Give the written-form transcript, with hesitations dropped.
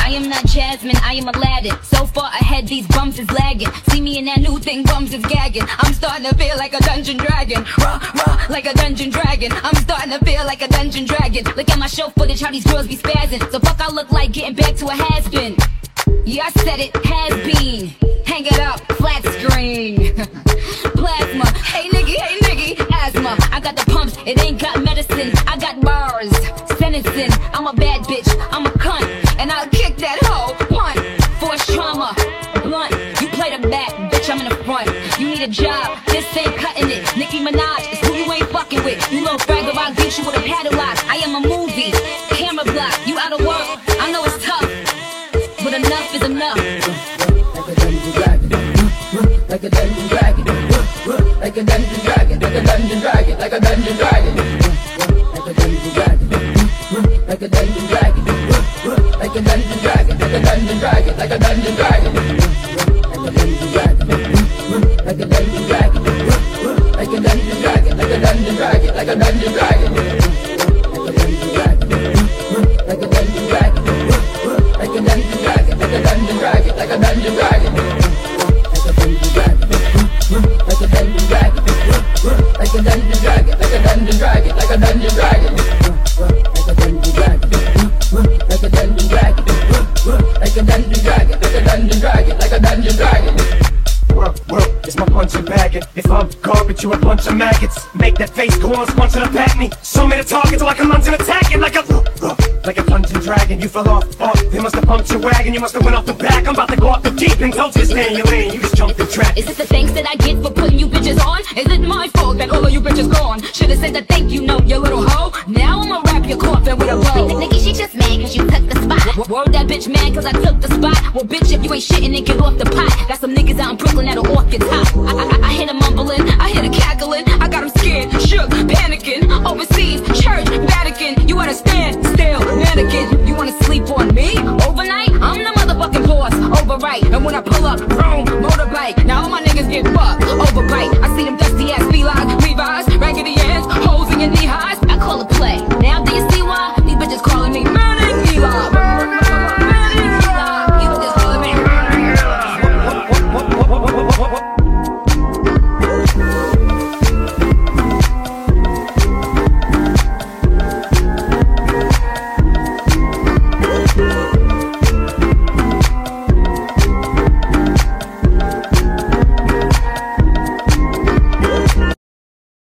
I am not Jasmine, I am Aladdin. So far ahead, these bums is lagging. See me in that new thing, bums is gagging. I'm starting to feel like a dungeon dragon. Rah, rah, like a dungeon dragon. I'm starting to feel like a dungeon dragon. Look at my show footage, how these girls be spazzing. So fuck I look like getting back to a has-been. Yeah, I said it, has been. Hang it up, flat screen. Plasma, hey nigga, asthma. I got the pumps, it ain't got medicine. I got bars, sentencing. I'm a bad bitch, I'm a cunt, and I'll kick that hoe, punt. Force trauma, blunt. You play the back, bitch, I'm in the front. You need a job, this ain't cutting it. Nicki Minaj is who you ain't fucking with. You little fraggle, I'll get you with a padlock. I am a movie, camera block. You out of work, I know it's tough, but enough is enough. Like a dungeon dragon, like a dungeon dragon, like a dungeon dragon, like a dungeon dragon, like a dungeon dragon, like a dungeon dragon, like a dungeon dragon, like a dungeon dragon, like a dungeon dragon, like a dungeon dragon, like a dungeon dragon, like a dungeon dragon, like a dungeon dragon, like a dungeon dragon, like a dungeon dragon, like a dungeon dragon, like a dungeon dragon, like a dungeon dragon, like a dungeon dragon. Like a dungeon dragon, like a dungeon dragon, like a dungeon dragon, like a dungeon dragon, like a dungeon dragon, like a dungeon dragon, like a dungeon dragon, like a dungeon dragon, like a dungeon dragon. Well, it's my punching bagging. If I'm garbage, you a bunch of maggots. Make that face go on, sponsored to pack me. So many targets like a lunge and attacking like a dungeon dragon. You fell off, they must have pumped your wagon. You must have went off the back. I'm about to go off the deep and told you to stay in your lane. You just jumped the track. Is it the thanks that I get for putting you bitches on? Is it my fault that all of you bitches gone? Should've said that thank you note, you little hoe. Now I'ma wrap your coffin with a bow. Nikki, she just mad cause you took the spot. Word that bitch mad cause I took the spot. Well bitch, if you ain't shitting then get off the pot. Got some niggas out in Brooklyn that'll off your top. I hear them mumbling, I hear the cackling. I got them scared, shook, panicking. Overseas, church, Vatican. You understand, still, mannequin. You wanna sleep on me? Overnight? I'm the motherfucking boss, overright. And when I pull up, boom, motorbike. Now all my niggas get fucked, overbite. I see them dusty ass feline